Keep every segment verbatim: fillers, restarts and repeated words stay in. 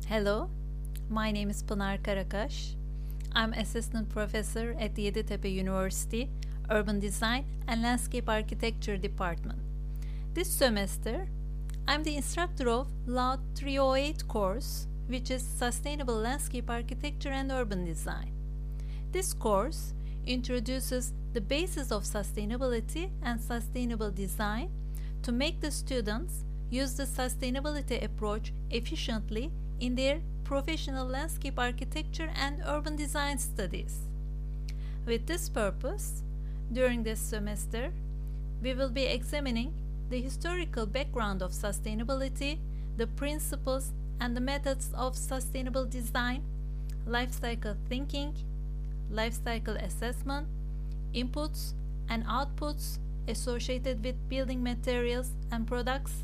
Hello, my name is Pınar Karakaş. I'm Assistant Professor at Yeditepe University, Urban Design and Landscape Architecture Department. This semester, I'm the instructor of L A U D three oh eight course, which is Sustainable Landscape Architecture and Urban Design. This course introduces the basis of sustainability and sustainable design to make the students use the sustainability approach efficiently in their professional landscape architecture and urban design studies. With this purpose, during this semester, we will be examining the historical background of sustainability, the principles and the methods of sustainable design, life cycle thinking, life cycle assessment, inputs and outputs associated with building materials and products,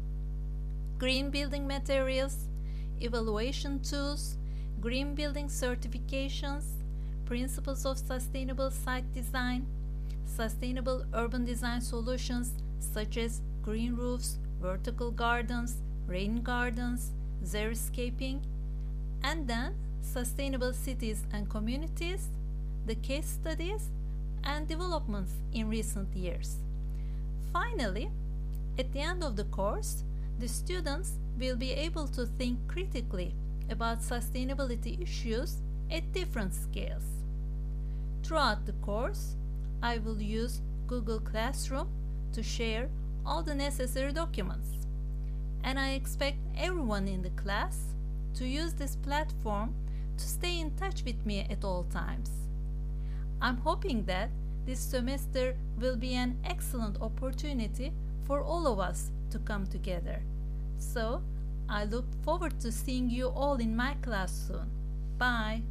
green building materials, evaluation tools, green building certifications, principles of sustainable site design, sustainable urban design solutions such as green roofs, vertical gardens, rain gardens, xeriscaping, and then sustainable cities and communities, the case studies, and developments in recent years. Finally, at the end of the course, the students will be able to think critically about sustainability issues at different scales. Throughout the course, I will use Google Classroom to share all the necessary documents, and I expect everyone in the class to use this platform to stay in touch with me at all times. I'm hoping that this semester will be an excellent opportunity for all of us to come together. So, I look forward to seeing you all in my class soon. Bye!